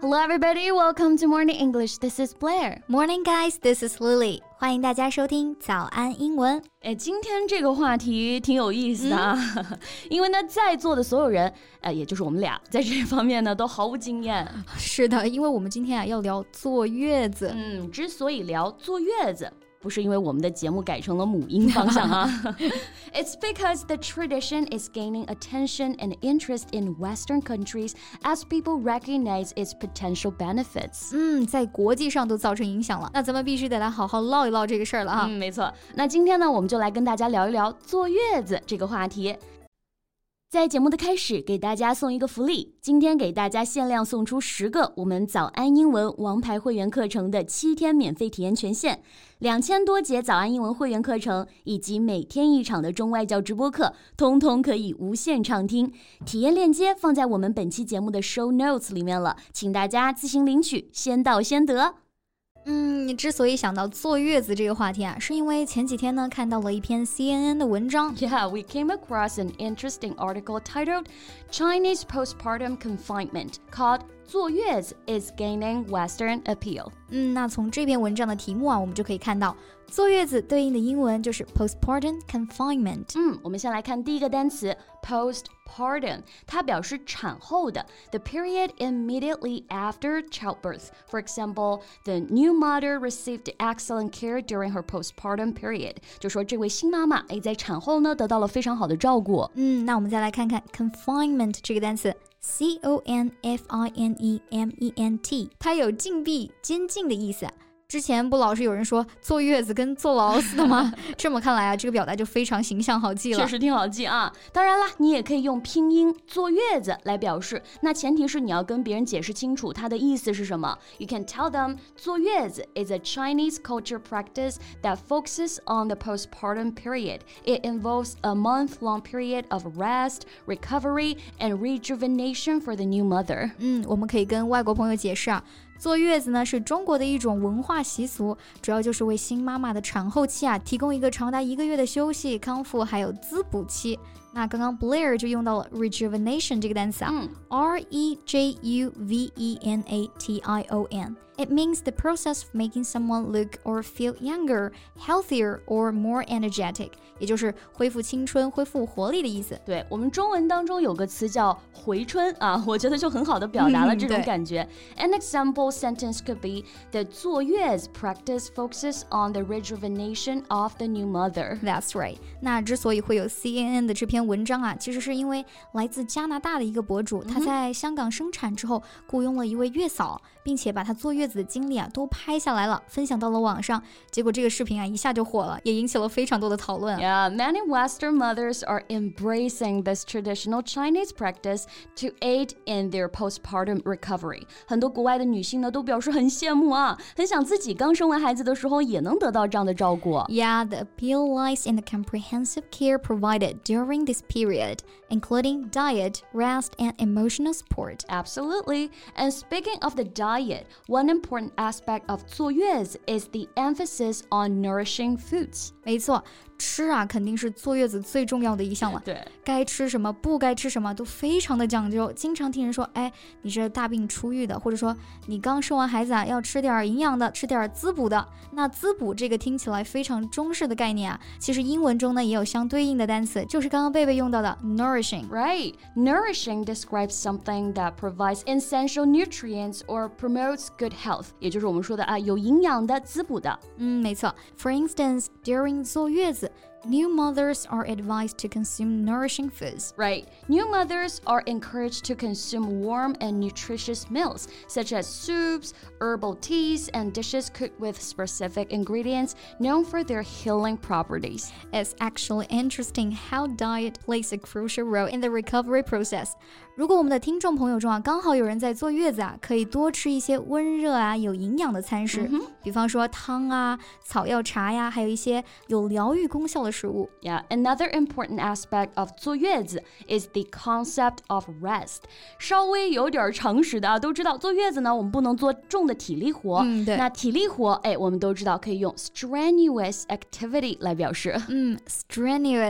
Hello everybody, welcome to Morning English. This is Blair. Morning guys, this is Lily. 欢迎大家收听早安英文。 今天这个话题挺有意思的啊，因为呢，在座的所有人，也就是我们俩，在这方面呢都毫无经验。 是的，因为我们今天要聊坐月子。 之所以聊坐月子，不是因为我们的节目改成了母婴方向啊。It's because the tradition is gaining attention and interest in Western countries as people recognize its potential benefits. 在国际上都造成影响了，那咱们必须得来好好唠一唠这个事儿了哈。 没错。那今天呢，我们就来跟大家聊一聊坐月子这个话题。在节目的开始，给大家送一个福利，今天给大家限量送出10个我们早安英文王牌会员课程的7天免费体验权限，2000多节早安英文会员课程以及每天1场的中外教直播课，通通可以无限畅听。体验链接放在我们本期节目的 show notes 里面了，请大家自行领取，先到先得。 你之所以想到坐月子这个话题啊，是因为前几天呢看到了一篇 CNN 的文章。 Yeah, we came across an interesting article titled Chinese Postpartum Confinement called 坐月子 is gaining Western appeal. 那从这篇文章的题目啊，我们就可以看到坐月子对应的英文就是 postpartum confinement. 我们先来看第一个单词 postpartum， 它表示产后的 the period immediately after childbirth. For example, the new mother received excellent care during her postpartum period. 就说这位新妈妈在产后呢得到了非常好的照顾。 那我们再来看看 confinement 这个单词。C-O-N-F-I-N-E-M-E-N-T 它有禁闭、监禁的意思。之前不老是有人说坐月子跟坐牢似的吗？这么看来啊，这个表达就非常形象好记了。 确实挺好记啊。当然啦，你也可以用拼音坐月子来表示，那前提是你要跟别人解释清楚它的意思是什么。You can tell them 坐月子 is a Chinese culture practice that focuses on the postpartum period. It involves a month-long period of rest, recovery, and rejuvenation for the new mother. 我们可以跟外国朋友解释啊。坐月子呢是中国的一种文化习俗，主要就是为新妈妈的产后期啊提供一个长達1个月的休息、康复还有滋补期。那刚刚 Blair 就用到了 rejuvenation 这个单词啊，R-E-J-U-V-E-N-A-T-I-O-N. It means the process of making someone look or feel younger, healthier, or more energetic. 也就是恢复青春、恢复活力的意思。 对，我们中文当中有个词叫回春啊，我觉得就很好的表达了这种感觉。An example sentence could be the 坐月子 practice focuses on the rejuvenation of the new mother. That's right. 那之所以会有 CNN 的这篇文章啊，其实是因为来自加拿大的一个博主，他在香港生产之后雇佣了一位月嫂，并且把他坐月子的经历啊都拍下来了，分享到了网上。结果这个视频啊一下就火了，也引起了非常多的讨论。 Yeah, many Western mothers are embracing this traditional Chinese practice to aid in their postpartum recovery. 很多国外的女性呢都表示很羡慕啊，很想自己刚生完孩子的时候也能得到这样的照顾。 Yeah, the appeal lies in the comprehensive care provided during this period, including diet, rest, and emotional support. Absolutely. And speaking of the diet, one important aspect of 坐月子 is the emphasis on nourishing foods. 没错，吃啊肯定是坐月子最重要的一项了。 对， 该吃什么不该吃什么都非常的讲究。经常听人说，你这大病初愈的，或者说你刚生完孩子啊，要吃点营养的，吃点滋补的。那滋补这个听起来非常中式的概念啊，其实英文中呢也有相对应的单词，就是刚刚贝贝用到的 nourishing. Right. Nourishing describes something that provides essential nutrients or promotes good health. 也就是我们说的有营养的、滋补的。 没错。For instance, during 坐月子New mothers are advised to consume nourishing foods. Right. New mothers are encouraged to consume warm and nutritious meals, such as soups, herbal teas, and dishes cooked with specific ingredients known for their healing properties. It's actually interesting how diet plays a crucial role in the recovery process. 如果我们的听众朋友中啊，刚好有人在坐月子啊，可以多吃一些温热啊、有营养的餐食，比方说汤啊、草药茶呀，还有一些有疗愈功效的食物。 Yeah, another important aspect of 坐月子 is the concept of rest. 稍微有点常识的啊，都知道坐月子呢，我们不能做重的体力活。 对。 那体力活，我们都知道可以用 strenuous activity 来表示。 strenuous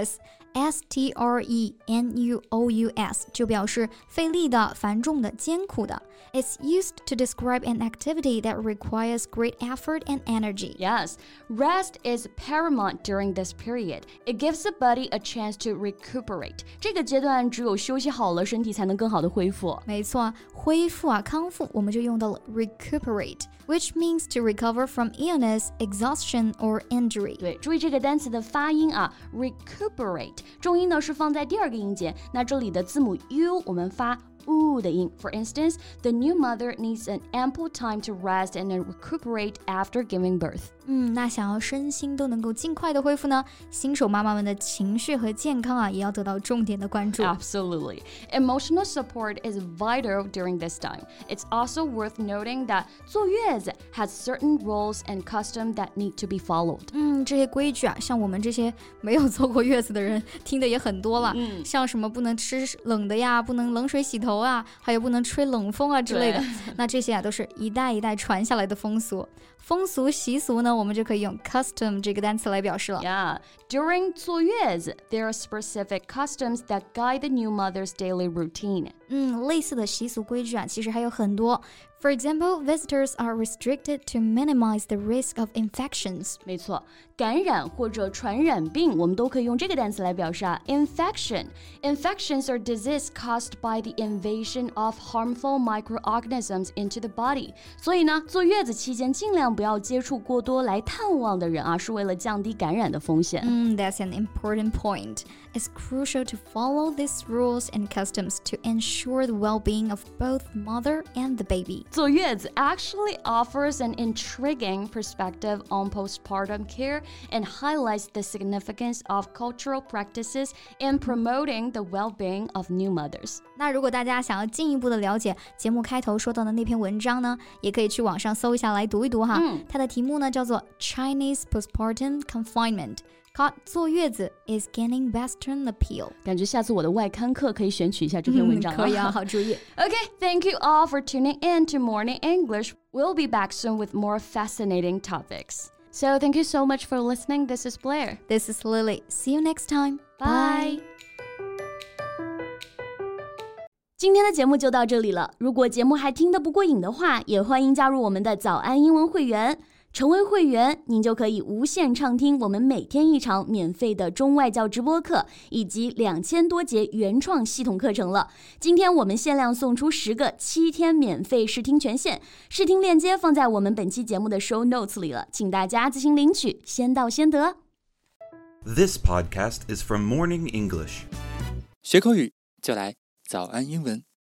strenuous 就表示费力的、繁重的、艰苦的。It's used to describe an activity that requires great effort and energy. Yes, rest is paramount during this period. It gives the body a chance to recuperate. 这个阶段只有休息好了，身体才能更好的恢复。 没错，恢复啊，康复，我们就用到了 recuperate, which means to recover from illness, exhaustion, or injury. 对，注意这个单词的发音啊 ，recuperate， 重音呢是放在第二个音节，那这里的字母 u 我们发的音。For instance, the new mother needs an ample time to rest and recuperate after giving birth. 那想要身心都能够尽快的恢复呢，新手妈妈们的情绪和健康啊，也要得到重点的关注。 Absolutely. Emotional support is vital during this time. It's also worth noting that 坐月子 has certain rules and customs that need to be followed. 这些规矩啊，像我们这些没有坐过月子的人听的也很多了。像什么不能吃冷的呀，不能冷水洗头啊，还有不能吹冷风啊之类的。那这些啊都是一代一代传下来的风俗。风俗习俗呢，我们就可以用 custom 这个单词来表示了。 Yeah, during 坐月子 there are specific customs that guide the new mother's daily routine. 类似的习俗规矩啊，其实还有很多。For example, visitors are restricted to minimize the risk of infections. 没错，感染或者传染病，我们都可以用这个单词来表示啊 infection. Infections are disease caused by the invasion of harmful microorganisms into the body. 所以呢，坐月子期间尽量不要接触过多来探望的人啊，是为了降低感染的风险。 That's an important point. It's crucial to follow these rules and customs to ensure the well-being of both mother and the baby. 坐月子 actually offers an intriguing perspective on postpartum care and highlights the significance of cultural practices in promoting the well-being of new mothers. 那如果大家想要进一步的了解节目开头说到的那篇文章呢，也可以去网上搜一下来读一读哈。它的题目呢叫做 Chinese Postpartum Confinement。坐月子 is gaining Western appeal. 感觉下次我的外刊课可以选取一下这篇文章。 可以啊，好主意。 Okay, thank you all for tuning in to Morning English. We'll be back soon with more fascinating topics. So thank you so much for listening. This is Blair. This is Lily. See you next time. Bye. 今天的节目就到这里了。如果节目还听得不过瘾的话，也欢迎加入我们的早安英文会员。成为会员，您就可以无限畅听我们每天一场免费的中外教直播课，以及2000多节原创系统课程了。今天我们限量送出10个7天免费试听权限，试听链接放在我们本期节目的 show notes 里了，请大家自行领取，先到先得。 This podcast is from Morning English. 学口语就来早安英文。